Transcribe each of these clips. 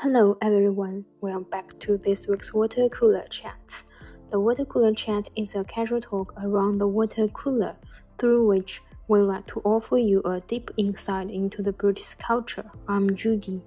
Hello everyone, welcome back to this week's Water Cooler Chat. The Water Cooler Chat is a casual talk around the water cooler, through which we like to offer you a deep insight into the British culture. I'm Judy.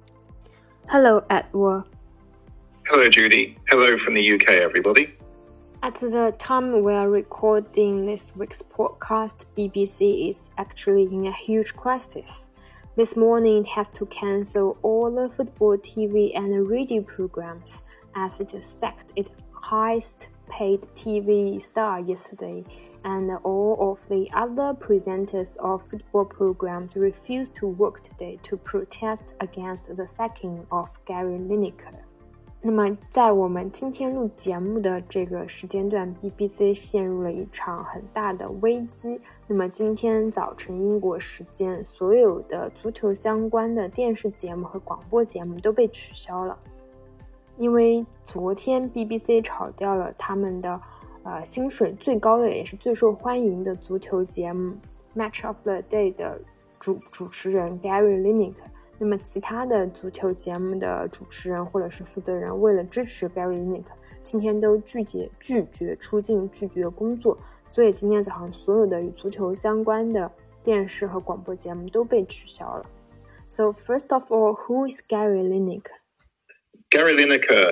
Hello Edward. Hello Judy. Hello from the UK everybody. At the time we are recording this week's podcast, BBC is actually in a huge crisis. This morning it has to cancel all the football TV and radio programs as it sacked its highest paid TV star yesterday, and all of the other presenters of football programs refused to work today to protest against the sacking of Gary Lineker. 那么在我们今天录节目的这个时间段 BBC 陷入了一场很大的危机。那么今天早晨英国时间，所有的足球相关的电视节目和广播节目都被取消了，因为昨天 BBC 炒掉了他们的薪水最高的也是最受欢迎的足球节目 Match of the Day 的主持人 Gary Lineker。那么其他的足球节目的主持人或者是负责人为了支持 Gary Lineker， 今天都拒绝出镜，拒绝工作，所以今天早上所有的与足球相关的电视和广播节目都被取消了。So first of all, who is Gary Lineker? Gary Lineker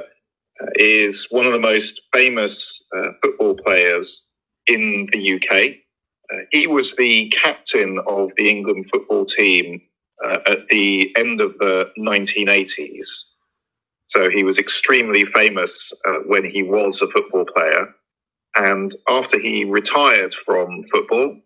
is one of the most famous football players in the UK. He was the captain of the England football team at the end of the 1980s. So he was extremely famous when he was a football player. And after he retired from football,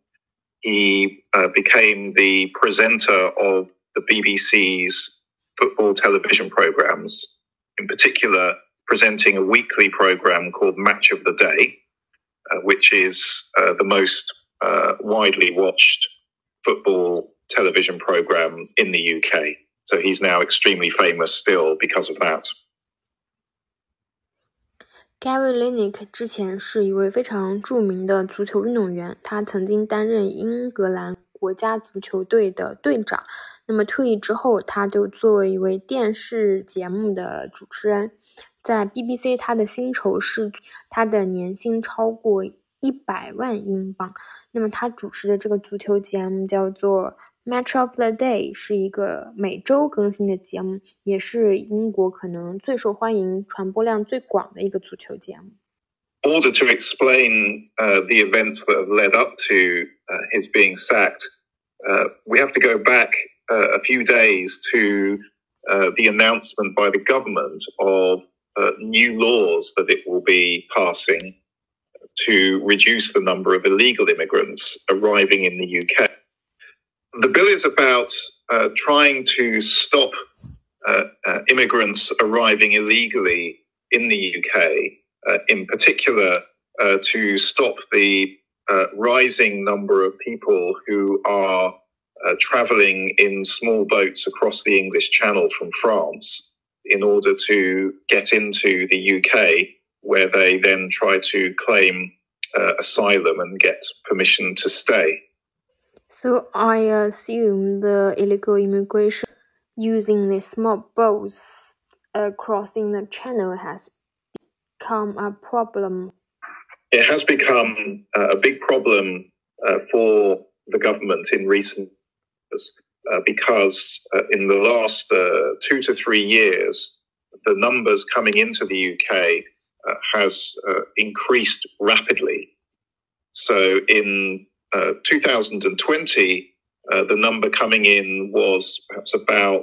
he became the presenter of the BBC's football television programs, in particular presenting a weekly program called Match of the Day, which is the most widely watched football television program in the UK. So he's now extremely famous still because of that. Gary Lineker 之前是一位非常著名的足球运动员，他曾经担任英格兰国家足球队的队长。那么退役之后，他就作为一位电视节目的主持人，在 BBC 他的薪酬是他的年薪超过100万英镑。那么他主持的这个足球节目叫做Match of the Day， 是一个每周更新的节目，也是英国可能最受欢迎、传播量最广的一个足球节目。 In order to explain the events that have led up to his being sacked, we have to go back a few days to the announcement by the government of new laws that it will be passing to reduce the number of illegal immigrants arriving in the UK. The bill is about trying to stop immigrants arriving illegally in the UK, in particular to stop the rising number of people who are travelling in small boats across the English Channel from France in order to get into the UK, where they then try to claim asylum and get permission to stay. So I assume the illegal immigration using the small boats crossing the channel has become a problem. It has become a big problem for the government in recent years because in the last 2 to 3 years, the numbers coming into the UK has increased rapidly. So in 2020, the number coming in was perhaps about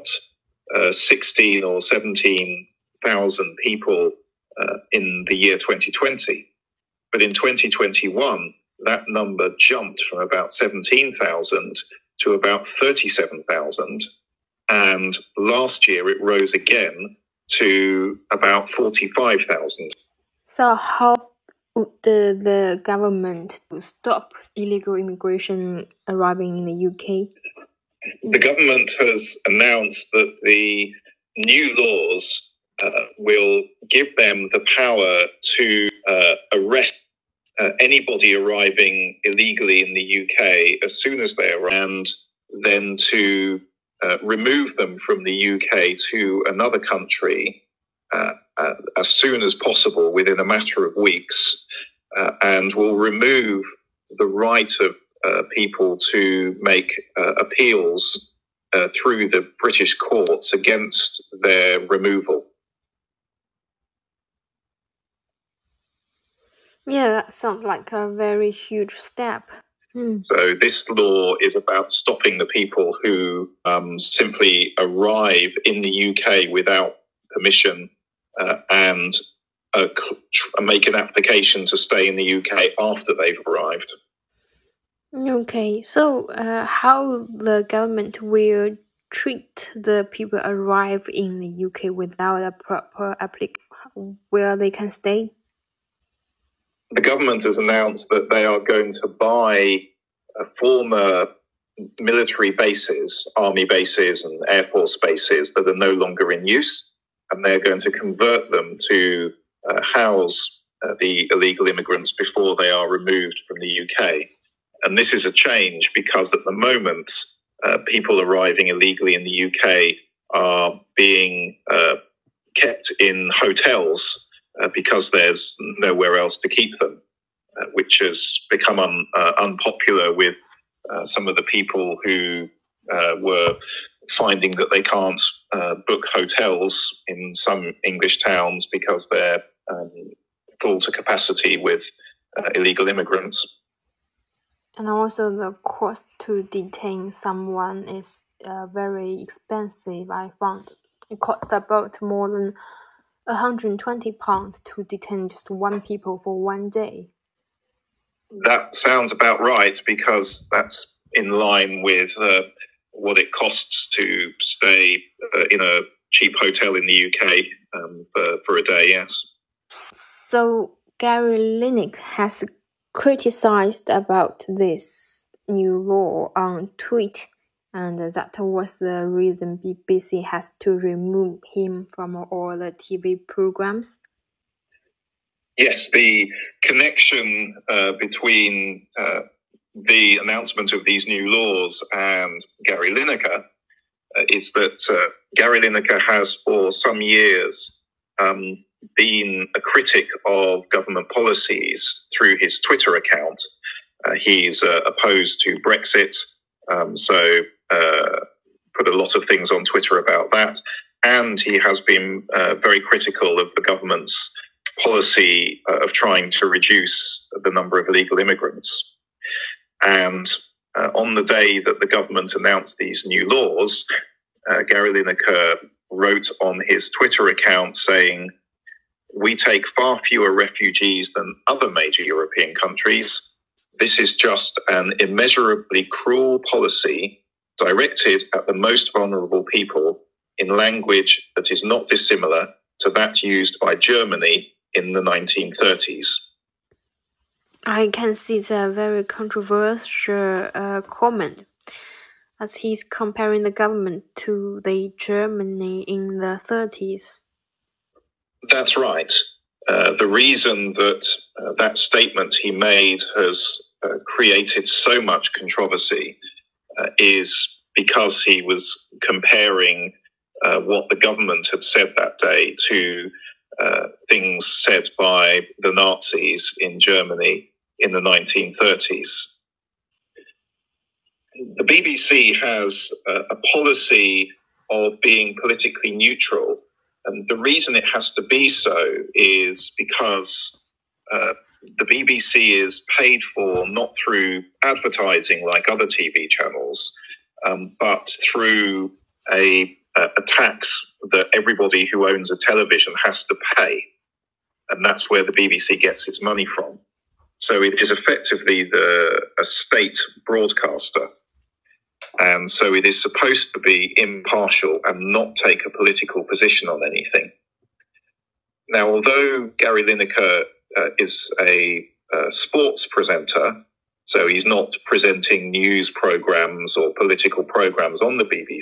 16 or 17,000 people in the year 2020. But in 2021, that number jumped from about 17,000 to about 37,000. And last year it rose again to about 45,000. So how would the government stop illegal immigration arriving in the UK? The government has announced that the new laws will give them the power to arrest anybody arriving illegally in the UK as soon as they arrive, and then to remove them from the UK to another country as soon as possible, within a matter of weeks, and will remove the right of people to make appeals through the British courts against their removal. Yeah, that sounds like a very huge step. So this law is about stopping the people who simply arrive in the UK without permission and make an application to stay in the UK after they've arrived. Okay, so how the government will treat the people arrive in the UK without a proper application where they can stay? The government has announced that they are going to buy former military bases, army bases and air force bases that are no longer in use, and they're going to convert them to house the illegal immigrants before they are removed from the UK. And this is a change because at the moment, people arriving illegally in the UK are being kept in hotels because there's nowhere else to keep them, which has become unpopular with some of the people who were finding that they can't book hotels in some English towns because they're full to capacity with illegal immigrants. And also the cost to detain someone is very expensive, I found. It costs about more than £120 to detain just one people for 1 day. That sounds about right, because that's in line with what it costs to stay in a cheap hotel in the UK for a day, yes. So Gary Lineker has criticized about this new law on Twitter, and that was the reason BBC has to remove him from all the TV programs. Yes, the connection between the announcement of these new laws and Gary Lineker is that Gary Lineker has for some years been a critic of government policies through his Twitter account. He's opposed to Brexit, so put a lot of things on Twitter about that. And he has been very critical of the government's policy of trying to reduce the number of illegal immigrants. And on the day that the government announced these new laws, Gary Lineker wrote on his Twitter account saying, "We take far fewer refugees than other major European countries. This is just an immeasurably cruel policy directed at the most vulnerable people in language that is not dissimilar to that used by Germany in the 1930s. I can see it's a very controversial comment, as he's comparing the government to the Germany in the 30s. That's right. The reason that that statement he made has created so much controversy is because he was comparing what the government had said that day to things said by the Nazis in Germany in the 1930s. The BBC has a policy of being politically neutral, and the reason it has to be so is because the BBC is paid for not through advertising like other TV channels, but through a tax that everybody who owns a television has to pay. And that's where the BBC gets its money from. So it is effectively a state broadcaster. And so it is supposed to be impartial and not take a political position on anything. Now, although Gary Lineker is a sports presenter, so he's not presenting news programs or political programs on the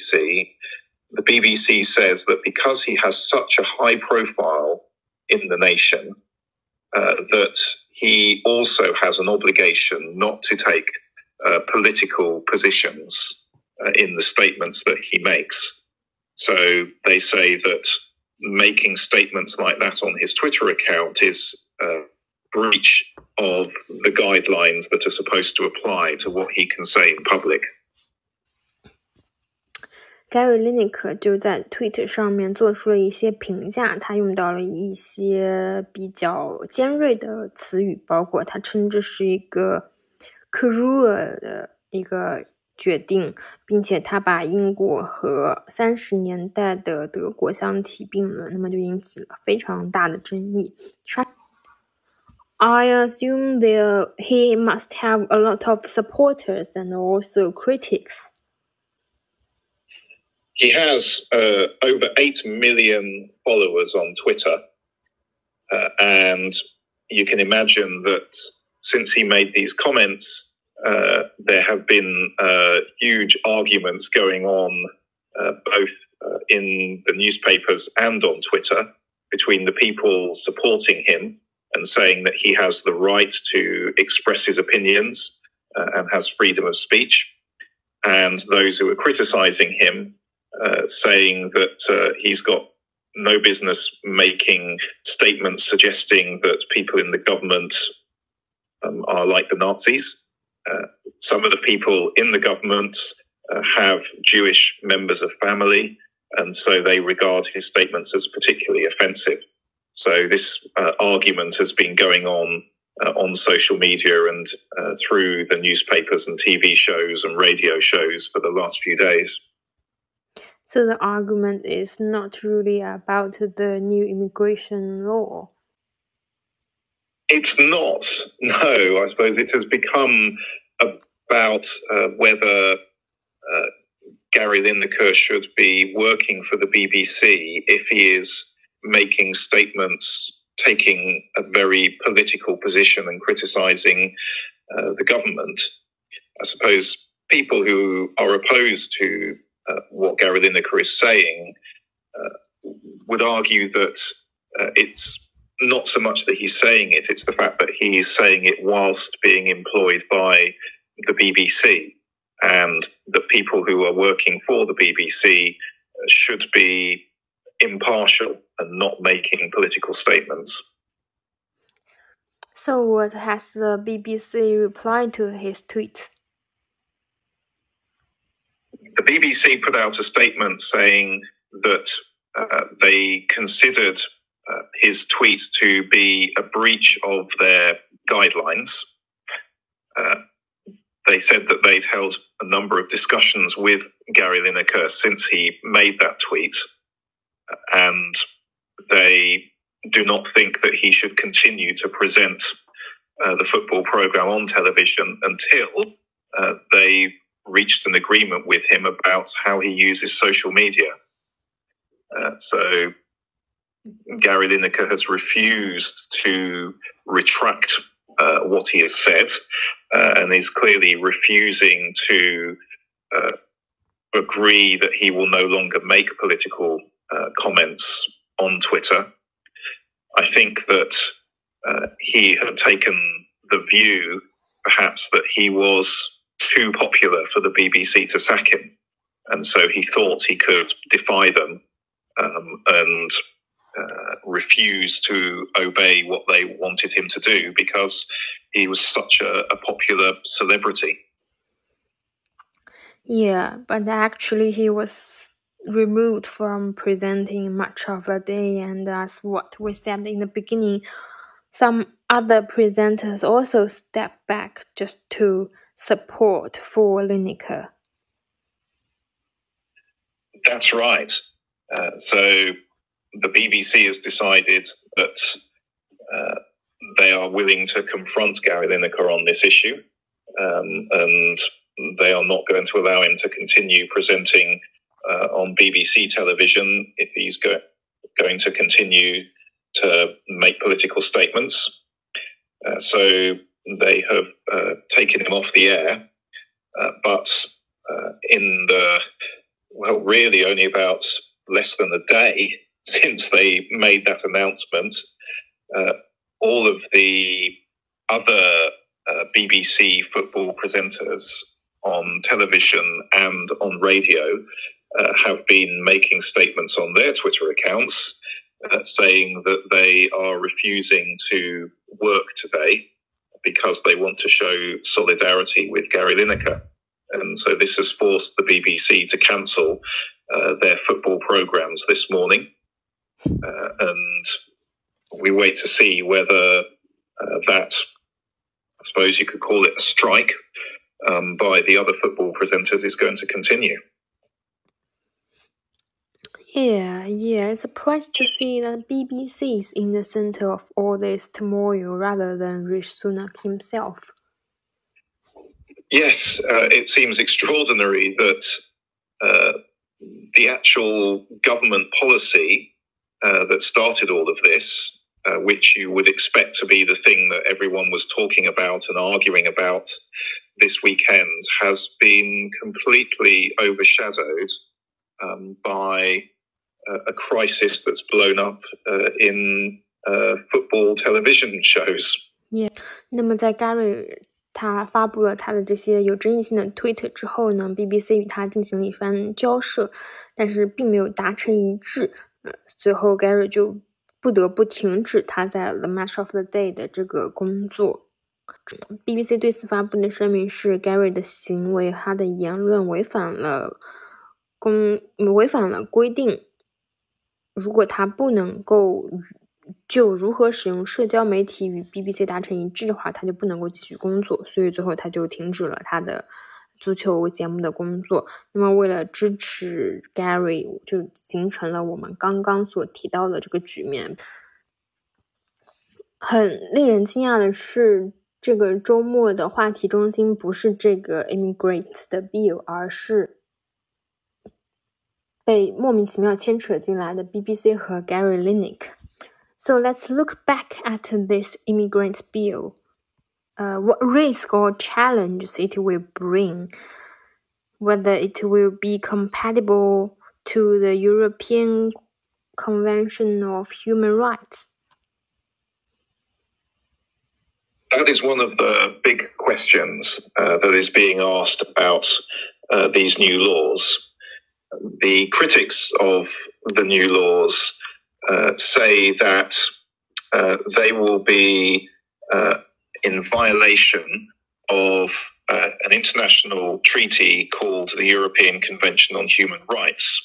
BBC says that because he has such a high profile in the nation, that he also has an obligation not to take political positions in the statements that he makes. So they say that making statements like that on his Twitter account is a breach of the guidelines that are supposed to apply to what he can say in public. Gary Lineker 就在 Twitter 上面做出了一些评价，他用到了一些比较尖锐的词语，包括他称这是一个 cruel 的一个决定，并且他把英国和30年代的德国相提并论，那么就引起了非常大的争议。I assume he must have a lot of supporters and also critics. He has over 8 million followers on Twitter, and you can imagine that since he made these comments, there have been huge arguments going on both in the newspapers and on Twitter between the people supporting him and saying that he has the right to express his opinions and has freedom of speech, and those who are criticizing him saying that he's got no business making statements suggesting that people in the government are like the Nazis. Some of the people in the government have Jewish members of family, and so they regard his statements as particularly offensive. So this argument has been going on social media and through the newspapers and TV shows and radio shows for the last few days. So the argument is not really about the new immigration law. It's not. No, I suppose it has become about whether Gary Lineker should be working for the BBC if he is making statements, taking a very political position and criticising the government. I suppose people who are opposed to what Gary Lineker is saying would argue that it's not so much that he's saying it, it's the fact that he's saying it whilst being employed by the BBC, and that people who are working for the BBC should be impartial and not making political statements. So what has the BBC replied to his tweet? The BBC put out a statement saying that they considered his tweet to be a breach of their guidelines. They said that they'd held a number of discussions with Gary Lineker since he made that tweet, and they do not think that he should continue to present the football programme on television until they reached an agreement with him about how he uses social media. So Gary Lineker has refused to retract what he has said, and is clearly refusing to agree that he will no longer make political comments on Twitter. I think that he had taken the view, perhaps, that he was too popular for the BBC to sack him, and so he thought he could defy them and refuse to obey what they wanted him to do because he was such a popular celebrity. Yeah, but actually he was removed from presenting much of the day, and as what we said in the beginning, some other presenters also stepped back just to support for Lineker. That's right. So the BBC has decided that they are willing to confront Gary Lineker on this issue, and they are not going to allow him to continue presenting on BBC television if he's going to continue to make political statements. So they have taken him off the air, but in really only about less than a day since they made that announcement, all of the other BBC football presenters on television and on radio have been making statements on their Twitter accounts saying that they are refusing to work today because they want to show solidarity with Gary Lineker. And so this has forced the BBC to cancel their football programmes this morning. And we wait to see whether that, I suppose you could call it a strike, by the other football presenters is going to continue. Yeah, it's a surprise to see that BBC is in the center of all this turmoil rather than Rishi Sunak himself. Yes, it seems extraordinary that the actual government policy that started all of this, which you would expect to be the thing that everyone was talking about and arguing about this weekend, has been completely overshadowed by a crisis that's blown up in football television shows. Yeah, 那么在 Gary 他发布了他的这些有争议性的 tweet 之后呢 ，BBC 与他进行了一番交涉，但是并没有达成一致。随后 Gary 就不得不停止他在 The Match of the Day 的这个工作。BBC 对此发布的声明是 Gary 的行为，他的言论违反了规定。如果他不能够就如何使用社交媒体与 BBC 达成一致的话，他就不能够继续工作，所以最后他就停止了他的足球节目的工作。那么为了支持 Gary， 就形成了我们刚刚所提到的这个局面。很令人惊讶的是，这个周末的话题中心不是这个 immigrant 的 bill， 而是被莫名其妙牵扯进来的 BBC 和 Gary Lineker. So let's look back at this immigrant bill. What risk or challenges it will bring, whether it will be compatible to the European Convention of Human Rights. That is one of the big questions that is being asked about these new laws. The critics of the new laws say that they will be in violation of an international treaty called the European Convention on Human Rights.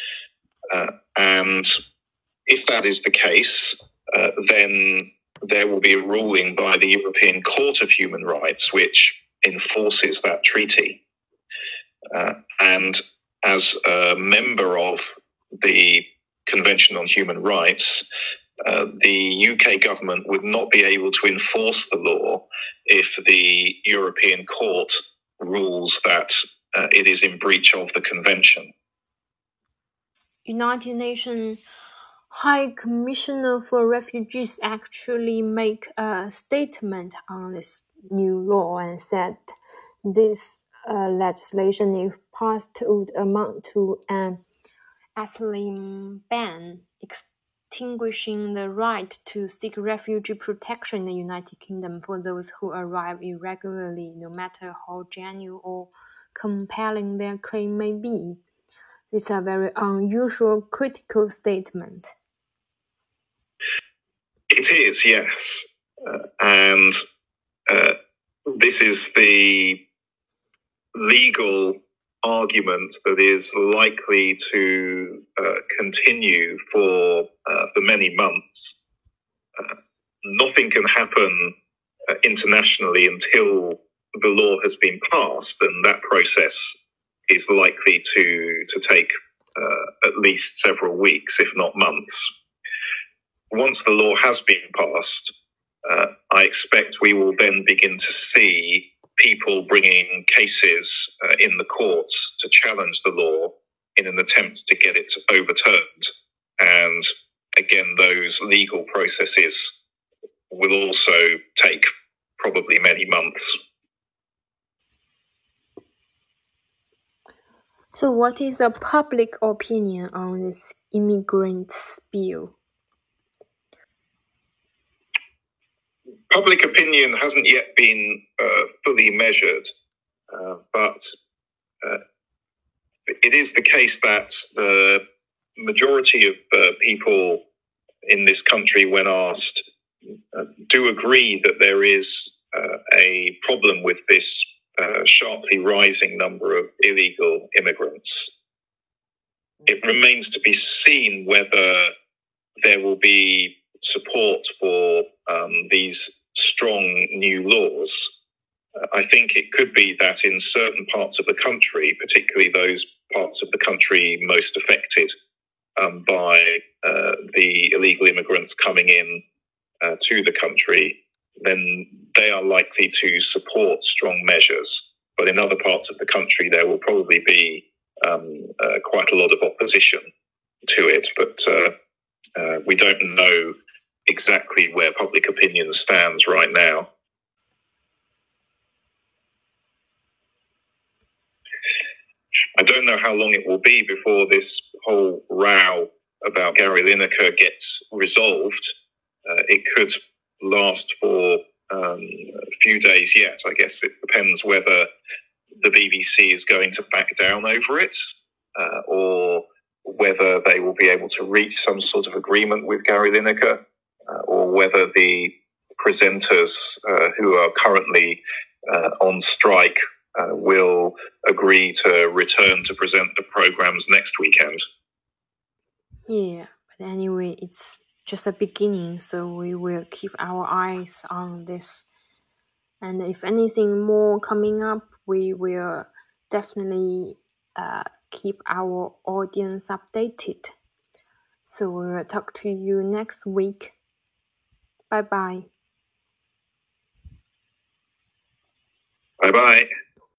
And if that is the case, then there will be a ruling by the European Court of Human Rights which enforces that treaty. And as a member of the Convention on Human Rights, the UK government would not be able to enforce the law if the European Court rules that it is in breach of the convention. United Nations High Commissioner for Refugees actually make a statement on this new law and said this legislation, if passed, would amount to an asylum ban, extinguishing the right to seek refugee protection in the United Kingdom for those who arrive irregularly, no matter how genuine or compelling their claim may be. It's a very unusual, critical statement. It is, yes. And this is the legal argument that is likely to continue for many months. Nothing can happen internationally until the law has been passed, and that process is likely to take at least several weeks, if not months. Once the law has been passed, I expect we will then begin to see people bringing cases in the courts to challenge the law in an attempt to get it overturned. And again, those legal processes will also take probably many months. So what is the public opinion on this immigrants bill? Public opinion hasn't yet been fully measured, But it is the case that the majority of people in this country, when asked, do agree that there is a problem with this sharply rising number of illegal immigrants. It remains to be seen whether there will be support for these strong new laws. I think it could be that in certain parts of the country, particularly those parts of the country most affected by the illegal immigrants coming in to the country, then they are likely to support strong measures. But in other parts of the country, there will probably be quite a lot of opposition to it. But we don't know exactly where public opinion stands right now. I don't know how long it will be before this whole row about Gary Lineker gets resolved. It could last for a few days yet. I guess it depends whether the BBC is going to back down over it or whether they will be able to reach some sort of agreement with Gary Lineker or whether the presenters who are currently on strike will agree to return to present the programs next weekend. Yeah, but anyway, it's just a beginning, so we will keep our eyes on this. And if anything more coming up, we will definitely keep our audience updated. So we will talk to you next week. Bye-bye. Bye-bye.